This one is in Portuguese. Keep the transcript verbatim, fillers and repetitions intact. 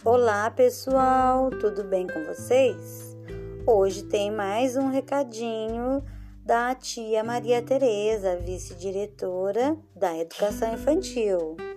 Olá, pessoal, tudo bem com vocês? Hoje tem mais um recadinho da tia Maria Tereza, vice-diretora da Educação Infantil.